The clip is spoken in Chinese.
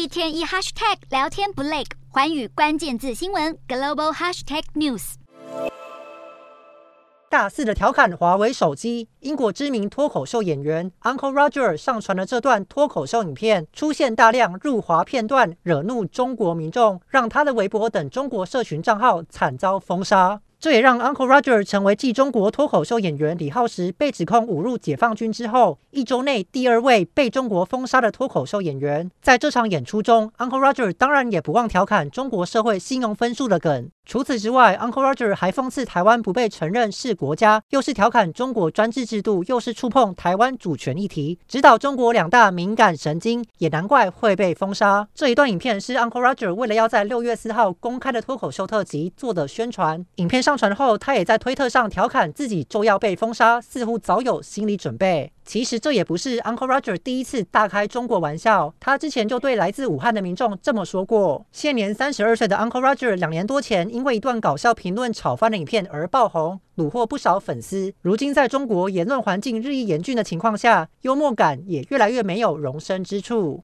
一天一 hashtag 聊天不累，寰宇關鍵字新聞 global hashtag news。 大肆的調侃華為手機，英國知名脫口秀演員 Uncle Roger 上傳了這段脫口秀影片，出現大量辱華片段，惹怒中國民眾，讓他的微博等中國社群賬號慘遭封殺。這也讓 Uncle Roger 成為繼中國脫口秀演員李浩石被指控侮辱解放軍之後，1周內第2位被中國封殺的脫口秀演員。在這場演出中 ，Uncle Roger 當然也不忘調侃中國社會信用分數的梗。除此之外 ，Uncle Roger 還諷刺台灣不被承認是國家，又是調侃中國專制制度，又是觸碰台灣主權議題，直搗中國2大敏感神經，也難怪會被封殺。這一段影片是 Uncle Roger 為了要在6月4號公開的脫口秀特輯做的宣傳。影片上傳後，他也在推特上調侃自己就要被封殺，似乎早有心理準備。其實這也不是 Uncle Roger 第一次大開中國玩笑，他之前就對來自武漢的民眾這麼說過。現年32歲的 Uncle Roger 2年多前因為一段搞笑評論炒翻的影片而爆紅，虜獲不少粉絲。如今在中國言論環境日益嚴峻的情況下，幽默感也越來越沒有容身之處。